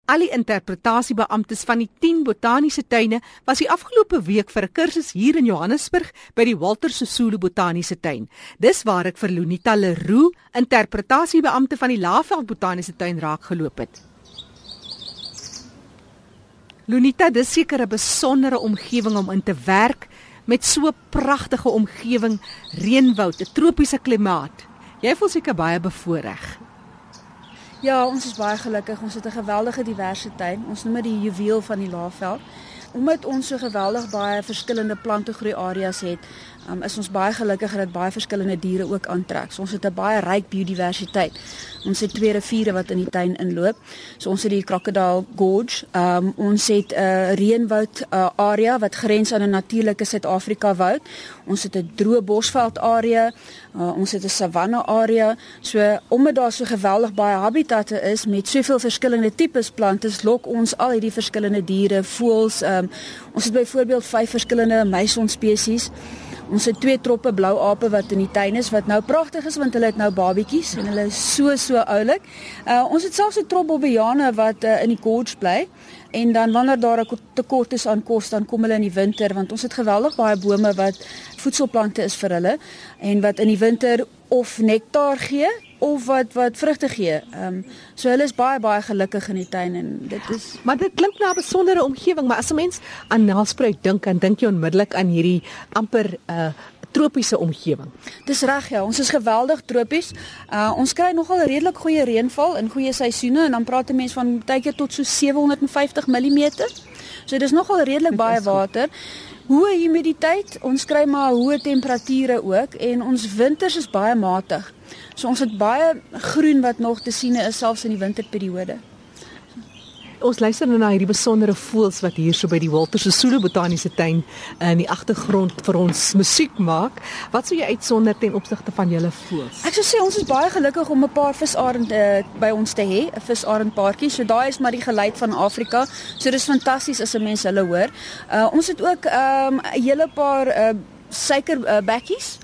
Al die interpretasiebeamptes van die 10 botaniese tuine was die afgelope week vir 'n kursus hier in Johannesburg by die Walter Sisulu Botaniese Tuin. Dis waar ek vir Lunita Leroux, interpretasiebeampte van die Laagveld Botaniese Tuin, raakgeloop het. Lunita, dis seker 'n besondere omgewing om in te werk met so 'n pragtige omgewing, reënwoud, 'n tropiese klimaat. Jy voel seker baie bevoordeel. Ja, ons is baie gelukkig. Ons het 'n geweldige diverse tuin. Ons noem dit die juweel van die Laagveld. Omdat ons so geweldig baie verskillende plantegroei areas het, is ons baie gelukkig dat baie verskillende diere ook aantrek. So ons het 'n baie ryk biodiversiteit. Ons het 2 riviere wat in die tuin inloop. So ons het die Crocodile Gorge. Ons het 'n reënwoud area wat grens aan 'n natuurlike Suid-Afrika woud. Ons het 'n droë bosveld area. Ons het 'n savanne area. So omdat daar so geweldig baie habitatte is met soveel verskillende tipes plante, lok ons al hierdie verskillende diere, voëls. Ons het byvoorbeeld 5 verskillende muisonspesies. Ons het 2 troppe blou ape wat in die tuin is, wat nou pragtig is want hulle het nou babietjies en hulle is so oulik. Ons het selfs 'n trop bobbejane wat in die gorge bly. En dan wanneer daar 'n tekort is aan kos, dan kom hulle in die winter, want ons het geweldig baie bome wat voedselplante is vir hulle en wat in die winter of nektar gee of wat vrugte gee. So hulle is baie gelukkig in die tuin en dit is. Maar dit klink na 'n besondere omgewing, maar as 'n mens aan Nelspruit dink, dan dink jy onmiddellik aan hierdie amper tropiese omgewing. Dis reg, ja, ons is geweldig tropies. Ons kry nogal 'n redelik goeie reënval in goeie seisoene en dan praat 'n mens van baie keer tot so 750 mm. So dis nogal redelik baie water. Hoë humiditeit, ons kry maar hoë temperature ook en ons winters is baie matig. So ons het baie groen wat nog te sien is selfs in die winterperiode. Ons luister nou na hierdie besondere voëls wat hier so by die Walter Sisulu Botaniese Tuin in die agtergrond vir ons musiek maak. Wat sou jy uitsonder ten opsigte van julle voëls? Ek sou sê ons is baie gelukkig om 'n paar visarende by ons te hê, 'n visarendpaartjie. So daai is maar die geluid van Afrika. So dis fantasties as 'n mens hulle hoor. Ons het ook 'n hele paar suikerbekkies.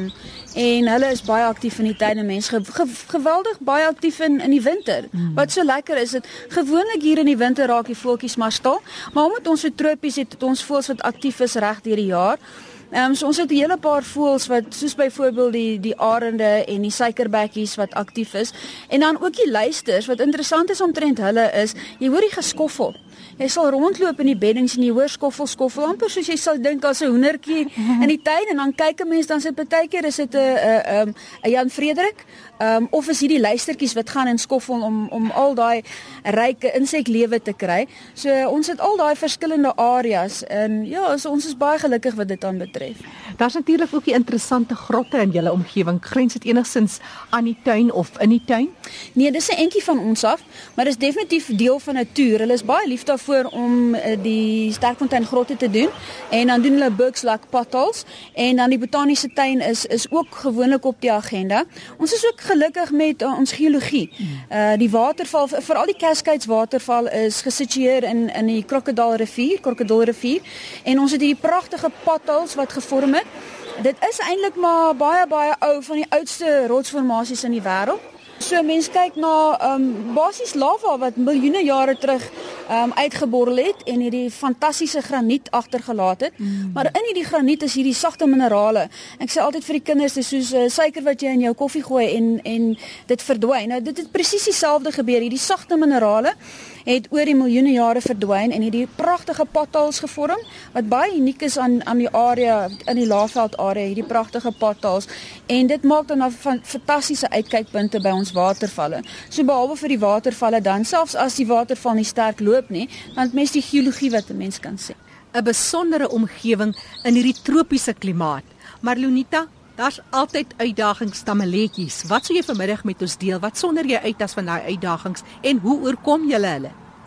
En hulle is baie aktief in die tuin en mense geweldig baie aktief in die winter. Wat so lekker is dit, gewoonlik hier in die winter raak die voeltjies maar stil, maar omdat ons so tropies het ons voëls wat aktief is reg deur die jaar. So ons het 'n hele paar voëls wat soos byvoorbeeld die arende en die suikerbekkies wat aktief is en dan ook die luisters. Wat interessant is omtrent hulle is, jy hoor die geskoffel. Jy sal rondloop in die beddings en jy hoor skoffel, amper soos jy sal dink as 'n hoendertjie in die tuin en dan kyk 'n mens dan sit partykeer is dit 'n Jan Frederik of is hierdie luistertjies wat gaan en skoffel om al daai ryke inseklewe te kry. So ons het al daai verskillende areas en ja, so ons is baie gelukkig wat dit aanbetref. Daar's natuurlik ook die interessante grotte in julle omgewing. Grens dit enigstens aan die tuin of in die tuin? Nee, dis 'n entjie van ons af, maar dis definitief deel van 'n toer. Hulle is baie lief daarvoor om die Sterkfontein grotte te doen en dan doen hulle Bucks Lake potholes en dan die botaniese tuin is ook gewoonlik op die agenda. Ons is ook gelukkig met ons geologie. Die waterval, veral die Cascades waterval is gesitueer in die Crocodile rivier en ons het hierdie pragtige potholes wat gevorm het. Dit is eintlik maar baie ou, van die oudste rotsformasies in die wêreld. So mense kyk na basies lava wat miljoene jare terug uitgeborrel het en hierdie fantastiese graniet agtergelaat het. Maar in hierdie graniet is hierdie sagte minerale. Ek sê altyd vir die kinders, dis soos suiker wat jy in jou koffie gooi en dit verdwyn. Nou dit het presies dieselfde gebeur. Hierdie sagte minerale het oor die miljoene jare verdwyn en hierdie pragtige potholes gevorm wat baie uniek is aan die area in die Laagveld area, hierdie pragtige potholes en dit maak dan fantastiese uitkykpunte by ons watervalle. So behalwe vir die watervalle dan selfs as die waterval nie sterk loop nie, dan het mens die geologie wat 'n mens kan sien. 'n Besondere omgewing in hierdie tropiese klimaat. Maar Lunita, daar's altyd uitdagings, stammeletjies. Wat sou jy vanmiddag met ons deel? Wat sonder jy uit as van daai uitdagings en hoe oorkom julle hulle?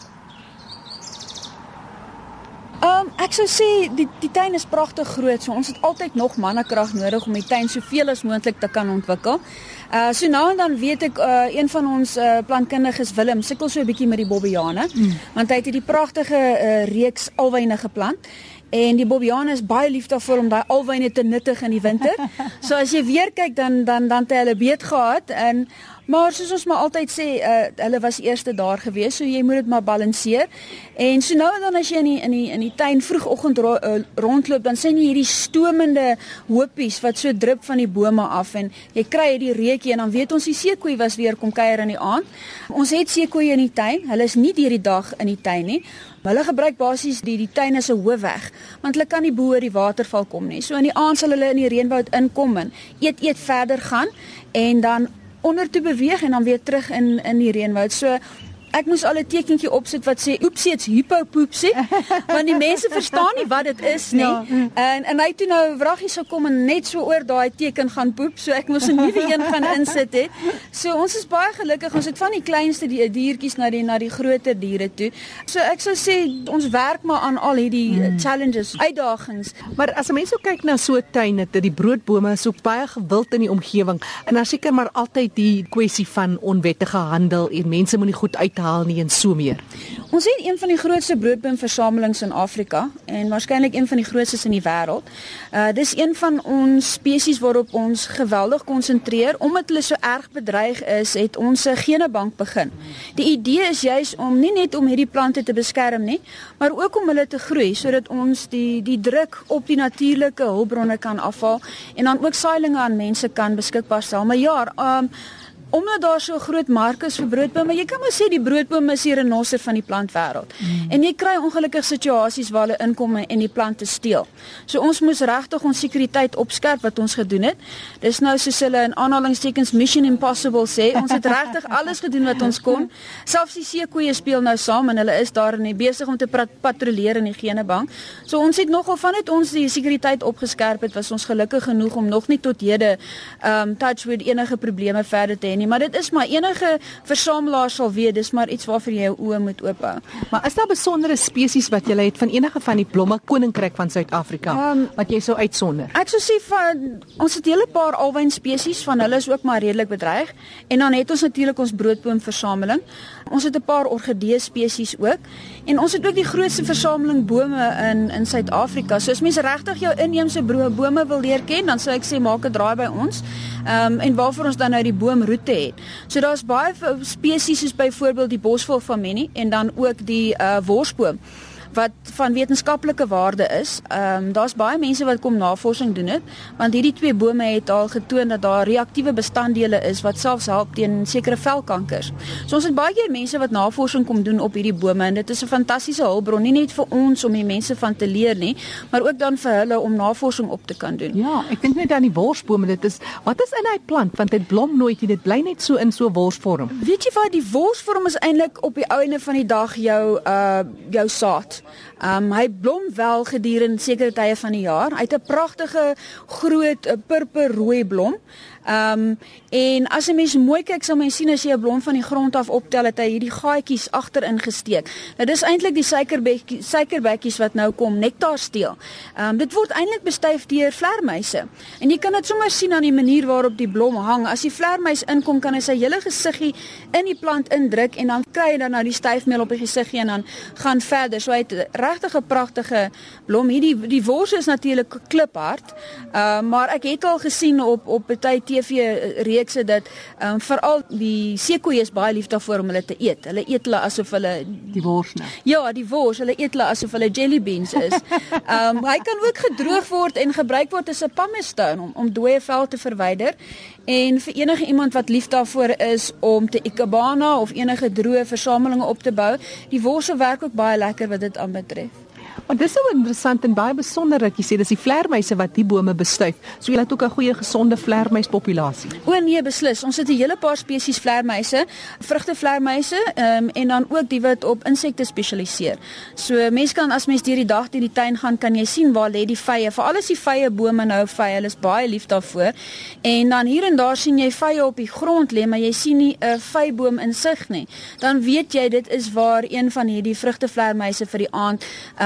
Ek sou sê die tuin is pragtig groot, so ons het altyd nog mannekrag nodig om die tuin soveel as moontlik te kan ontwikkel. So nou en dan weet ek een van ons plantkundiges, Willem, sukkel so 'n bietjie met die bobbejane, want hy het hierdie pragtige reeks alwyne geplant. En die bobbejane is baie lief daarvoor om daai alwyne te nuttig in die winter. So as jy weer kyk dan het hy hulle beet gehad Maar soos ons maar altyd sê, hulle was eerste daar gewees, so jy moet dit maar balanseer. En so nou en dan as jy in die tuin vroegoggend rondloop, dan sien jy hierdie stomende hoopies wat so drup van die bome af en jy kry hierdie reukie en dan weet ons die seekoei was weer kom kuier in die aand. Ons het seekoeie in die tuin. Hulle is nie deur die dag in die tuin nie. Hulle gebruik basies die tuin as 'n hoofweg, want hulle kan nie bo oor die waterval kom nie. So in die aand sal hulle in die reënwoud inkom en eet verder gaan en dan onder toe beweeg en dan weer terug in die reënwoud. So ek moes al 'n tekentjie opsit wat sê oepsie, it's hippopoepsie, want die mense verstaan nie wat dit is nie. Ja. En hy toe nou wraggies gekom en net so oor daai teken gaan poep, so ek moes 'n nuwe een gaan insit het. So ons is baie gelukkig, ons het van die kleinste diertjies na die groter diere toe. So ek sou sê ons werk maar aan al hierdie challenges, uitdagings. Maar as 'n mens so kyk na so 'n tuin, het die broodbome is ook baie gewild in die omgewing en daar seker maar altyd die kwessie van onwettige handel en mense moet nie goed uithaal nie en so meer. Ons het een van die grootste broodboomversamelings in Afrika en waarskynlik een van die grootstes in die wêreld. Dis een van ons spesies waarop ons geweldig konsentreer. Omdat hulle so erg bedreig is, het ons 'n genebank begin. Die idee is juis om nie net om hierdie plante te beskerm nie, maar ook om hulle te groei sodat ons die druk op die natuurlike hulpbronne kan afhaal en dan ook saailinge aan mense kan beskikbaar stel. Maar ja, omdat daar so 'n groot mark is vir broodbome, jy kan maar sê die broodbome is die renoster van die plantwêreld. En jy kry ongelukkige situasies waar hulle inkom en die plante steel. So ons moes regtig ons sekuriteit opskerp wat ons gedoen het. Dis nou soos hulle in aanhalingstekens Mission Impossible sê, ons het regtig alles gedoen wat ons kon. Selfs die seekoeie speel nou saam en hulle is daar en besig om te patrolleer in die genebank. So ons het nogal vanuit ons die sekuriteit opgeskerp het, was ons gelukkig genoeg om nog nie tot hede touchwood enige probleme verder te hê nie, maar dit is maar enige versamelaar sal weet, dis maar iets waarvoor jy jou oë moet oop hou. Maar is daar besondere spesies wat jy het van enige van die blomme koninkryk van Suid-Afrika wat jy sou uitsonder? Ek sou sê ons het 'n hele paar alwyn spesies, van hulle is ook maar redelik bedreig en dan het ons natuurlik ons broodboomversameling. Ons het 'n paar orgidee spesies ook en ons het ook die grootste versameling bome in Suid-Afrika. So as mense regtig jou inheemse bome wil leer ken, dan sou ek sê maak 'n draai by ons. En waarvoor ons dan nou die boomroete het. So daar's baie spesies soos byvoorbeeld die bosvolfaminie en dan ook die worsboom wat van wetenskaplike waarde is. Daar's baie mense wat kom navorsing doen het, want hierdie twee bome het al getoon dat daar reaktiewe bestanddele is wat selfs help teen sekere velkankers. So ons het baie keer mense wat navorsing kom doen op hierdie bome en dit is 'n fantastiese hulpbron, nie net vir ons om die mense van te leer nie, maar ook dan vir hulle om navorsing op te kan doen. Ja, ek dink net aan die worsbome, wat is in hy plant, want dit blom nooit, dit bly net so in so worsvorm. Weet jy wat, die worsvorm is eintlik op die einde van die dag jou saad. Hy blom wel gedurende sekere tye van die jaar. Hy het 'n pragtige groot purperrooi blom. En as 'n mens mooi kyk, sal mens sien as jy 'n blom van die grond af optel, het hy hierdie gaatjies agterin gesteek. Nou dis eintlik die suikerbekkies wat nou kom nektar steel. Dit word eintlik bestuif deur vlermuise. En jy kan dit sommer sien aan die manier waarop die blom hang. As die vlermuis inkom, kan hy sy hele gesiggie in die plant indruk en dan kry hy dan nou die styfmeel op die gesiggie en dan gaan verder. So hy het regtig 'n pragtige blom. Die wors is natuurlik kliphard, maar ek het al gesien op baie TV-reekse dat veral die seekoeie is baie lief daarvoor om hulle te eet. Hulle eet hulle asof hulle die wors nou. Ja, die wors, hulle eet hulle asof hulle jelly beans is. Hy kan ook gedroog word en gebruik word as 'n pumice stone om dooie vel te verwyder. En vir enige iemand wat lief daarvoor is om te ikebana of enige droë versamelinge op te bou, die worse werk ook baie lekker wat dit aanbetref. Maar dis so interessant en baie besonder dat jy sê dis die vlermuise wat die bome bestuif. So jy het ook 'n goeie gesonde vlermuispopulasie. O nee, beslis. Ons het 'n hele paar spesies vlermuise, vrugtevlermuise, en dan ook die wat op insekte spesialiseer. So mense kan as mens deur die dag deur die tuin gaan, kan jy sien waar lê die vye. Veral as die vye bome nou vye, hulle is baie lief daarvoor. En dan hier en daar sien jy vye op die grond lê, maar jy sien nie 'n vyeboom in sig nie. Dan weet jy dit is waar een van hierdie vrugtevlermuise vir die aand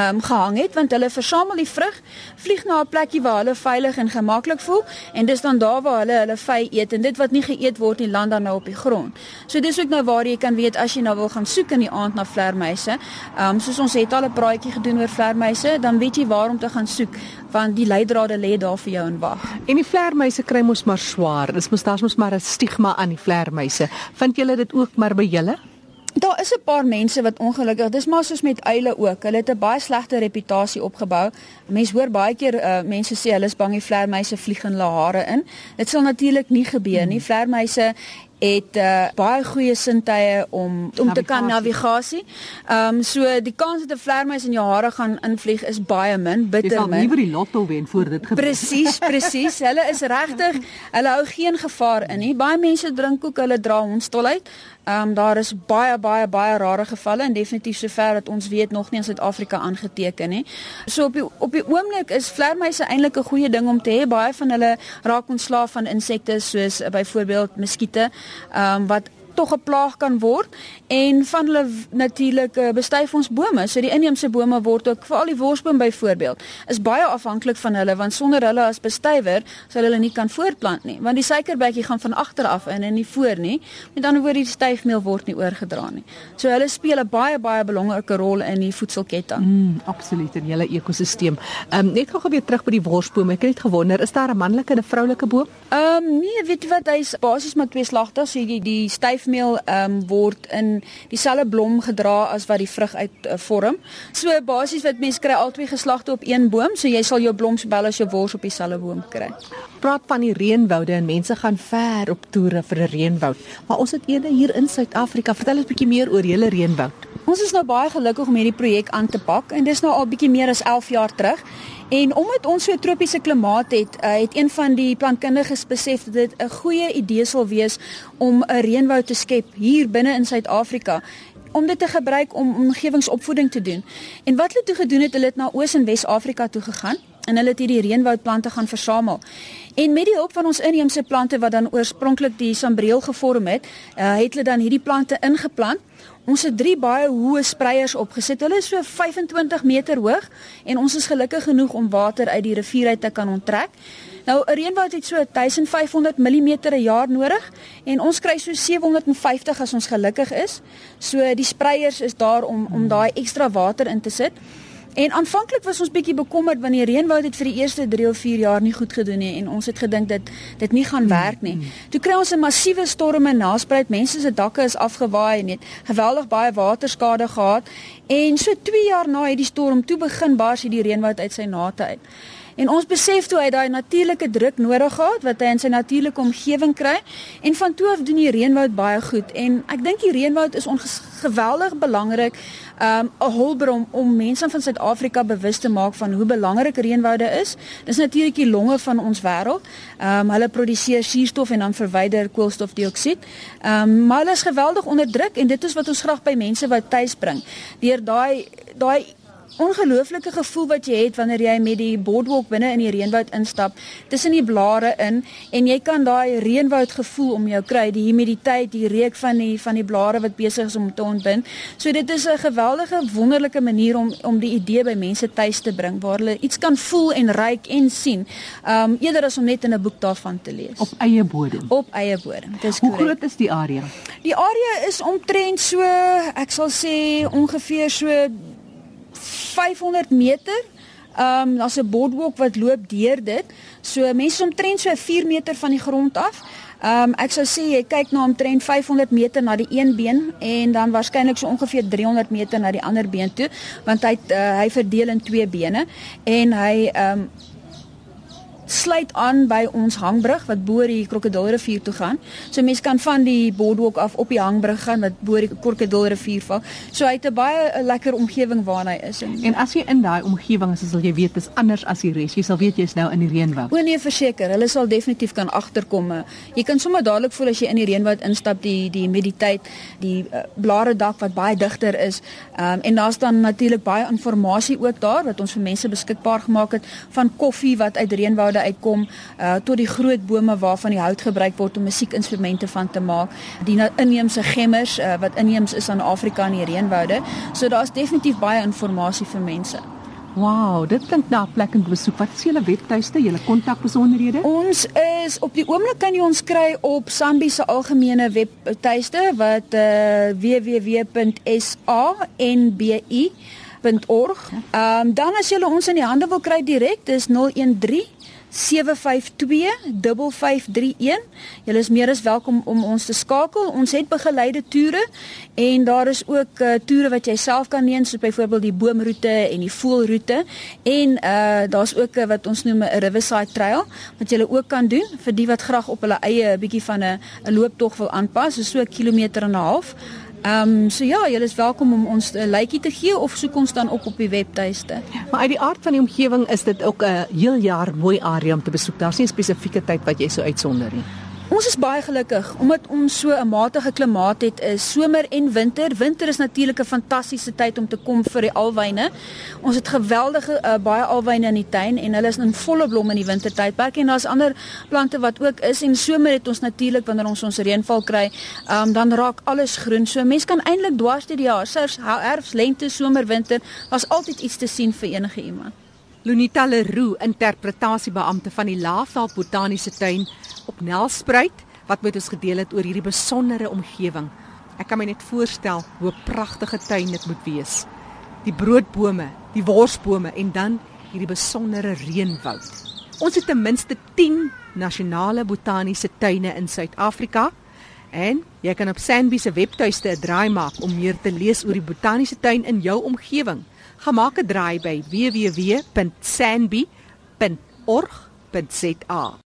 gehang het, want hulle versamel die vrug, vlieg na 'n plekkie waar hulle veilig en gemaklik voel en dis dan daar waar hulle vy eet en dit wat nie geëet word nie land dan nou op die grond. So dis ook nou waar jy kan weet as jy nou wil gaan soek in die aand na vlermuise. Soos ons het al 'n praatjie gedoen oor vlermuise, dan weet jy waar om te gaan soek want die leidrade lê daar vir jou in wag. En die vlermuise kry mos maar swaar. Daar's mos maar 'n stigma aan die vlermuise. Vind julle dit ook maar by julle? Daar is 'n paar mense wat ongelukkig, dis maar soos met uile ook. Hulle het 'n baie slegte reputasie opgebou. Mense hoor baie keer mense sê hulle is bang die vlermuise vlieg in hulle hare in. Dit sal natuurlik nie gebeur nie. Vlermuise het baie goeie sintuie om te kan navigasie. So die kans dat 'n vlermuis in jou hare gaan invlieg is baie min, bitter min. Jy sal liewer die lotto wen voor dit gebeur. Presies. Hulle is regtig, hulle hou geen gevaar in nie. Baie mense drink ook, hulle dra hondstol uit. Daar is baie rare gevalle en definitief sover dat ons weet nog nie in Suid-Afrika aangeteken nie. So op die oomblik is vlermuise eintlik 'n goeie ding om te hê. Baie van hulle raak ontslaaf van insekte soos byvoorbeeld muskiete, wat tog 'n plaag kan word en van hulle natuurlik bestuif ons bome. So die inheemse bome word ook, veral die worsboom byvoorbeeld, is baie afhanklik van hulle want sonder hulle as bestuiver sal hulle nie kan voortplant nie, want die suikerbekkie gaan van agter af in en nie voor nie. Met ander woorde, die styfmeel word nie oorgedra nie. So hulle speel 'n baie belangrike rol in die voedselketting. Absoluut in julle ekosisteem. Net gou weer terug by die worsboom. Ek het net gewonder, is daar 'n manlike en 'n vroulike boom? Nee, weet jy wat, hy's basies maar tweeslagtig. So die styfmeel word in dieselfde blom gedra as wat die vrug uit vorm. So basies wat mense kry albei geslagte op een boom, so jy sal jou blom sowel as jou wors op dieselfde boom kry. Praat van die reënwoude en mense gaan ver op toere vir 'n reënwoud. Maar ons het eene hier in Suid-Afrika. Vertel ons 'n bietjie meer oor julle reënwoud. Ons is nou baie gelukkig om hierdie projek aan te pak en dis nou al bietjie meer as 11 jaar terug. En omdat ons so 'n tropiese klimaat het, het een van die plantkundiges besef dat dit 'n goeie idee sal wees om 'n reënwoud te skep hier binne in Suid-Afrika, om dit te gebruik om omgewingsopvoeding te doen. En wat hulle toe gedoen het, hulle het na Oos- en Wes-Afrika toe gegaan en hulle het hierdie reënwoudplante gaan versamel. En met die hulp van ons inheemse plante wat dan oorspronklik die sambreel gevorm het, het hulle dan hierdie plante ingeplant. Ons het 3 baie hoë spreiers opgesit. Hulle is so 25 meter hoog en ons is gelukkig genoeg om water uit die rivier uit te kan onttrek. Nou 'n reënwoud het so 1500 mm 'n jaar nodig en ons kry so 750 as ons gelukkig is. So die spreiers is daar om daai ekstra water in te sit. En aanvanklik was ons bietjie bekommerd want die reënwoud het vir die eerste 3 of 4 jaar nie goed gedoen nie en ons het gedink dat dit nie gaan werk nie. Toe kry ons 'n massiewe storm en naspruit, mense se dakke is afgewaai en het geweldig baie waterskade gehad en so 2 jaar na hierdie storm toe begin bars hierdie reënwoud uit sy nate uit. En ons besef toe hy daai natuurlike druk nodig gehad wat hy in sy natuurlike omgewing kry en van toe af doen die reënwoud baie goed en ek dink die reënwoud is geweldig belangrik, 'n hulpbron om mense van Suid-Afrika bewus te maak van hoe belangrik reënwoude is. Dis natuurlik die longe van ons wêreld. Hulle produseer suurstof en dan verwyder koolstofdioksied. Maar hulle is geweldig onder druk en dit is wat ons graag by mense wou tuis bring. Deur daai ongelooflike gevoel wat jy het wanneer jy met die boardwalk binne in die reënwoud instap, tussen die blare in en jy kan daai reënwoud gevoel om jou kry, die humiditeit, die reuk van die blare wat besig is om te ontbind. So dit is 'n geweldige wonderlike manier om die idee by mense tuis te bring waar hulle iets kan voel en ruik en sien, eerder as om net in 'n boek daarvan te lees. Op eie bodem. Op eie bodem. Dis Hoe korrek. groot is die area? Die area is omtrent so, ek sal sê ongeveer so 500 meter. Daar's 'n boardwalk wat loop deur dit. So mense omtrent so 4 meter van die grond af. Ek sou sê jy kyk na omtrent 500 meter na die een been en dan waarskynlik so ongeveer 300 meter na die ander been toe, want hy verdeel in 2 bene en hy sluit aan by ons hangbrug wat bo die Krokodilrivier toe gaan. So mense kan van die boardwalk af op die hangbrug gaan wat bo die Krokodilrivier val. So hy het 'n baie lekker omgewing waarna hy is. En as jy in daai omgewing is, sal jy weet dis anders as die res. Jy sal weet jy's nou in die reënwoud. O nee, verseker, hulle sal definitief kan agterkom. Jy kan sommer dadelik voel as jy in die reënwoud instap, die humiditeit, die blare dak wat baie digter is. En daar's dan natuurlik baie inligting ook daar wat ons vir mense beskikbaar gemaak het, van koffie wat uit reënwoude uitkom, tot die groot bome waarvan die hout gebruik word om musiekinstrumente van te maak, die inheemse gemmers wat inheems is aan Afrika en die reënwoude. So daar's definitief baie inligting vir mense. Wow, dit klink na 'n plek om te besoek. Wat is julle webtuiste, julle kontakbesonderhede? Ons is op die oomblik kan jy ons kry op SANBI se algemene webtuiste wat www.sanbi.org. Dan as jy ons in die hande wil kry direk, dis 013 752-5531. Julle is meer as welkom om ons te skakel. Ons het begeleide toere en daar is ook toere wat jy self kan neem, soos byvoorbeeld die boomroete en die voelroete. En daar's ook wat ons noem 'n Riverside Trail wat jy ook kan doen vir die wat graag op hulle eie 'n bietjie van 'n looptog wil aanpas, so 'n kilometer en 'n half. So ja, julle is welkom om ons 'n lykie te gee of soek ons dan op die webtuiste. Maar uit die aard van die omgewing is dit ook 'n heel jaar mooi area om te besoek. Daar's nie 'n spesifieke tyd wat jy so uitsonder nie. Ons is baie gelukkig omdat ons so 'n matige klimaat het, is somer en winter. Winter is natuurlik 'n fantastiese tyd om te kom vir die alwyne. Ons het geweldige baie alwyne in die tuin en hulle is in volle blom in die wintertydperk en daar's ander plante wat ook is en somer het ons natuurlik wanneer ons reënval kry, dan raak alles groen. So mens kan eintlik dwars deur die jaar, selfs herfs, lente, somer, winter, daar's altyd iets te sien vir enige iemand. Lunita Leroux, interpretasiebeampte van die Laafdal Botaniese Tuin op Nelspruit, wat met ons gedeel het oor hierdie besondere omgewing. Ek kan my net voorstel hoe 'n pragtige tuin dit moet wees. Die broodbome, die worsbome en dan hierdie besondere reënwoud. Ons het ten minste 10 nasionale botaniese tuine in Suid-Afrika en jy kan op SANBI se webtuiste 'n draai maak om meer te lees oor die botaniese tuin in jou omgewing. Gaan maak 'n draai by www.sanbi.org.za.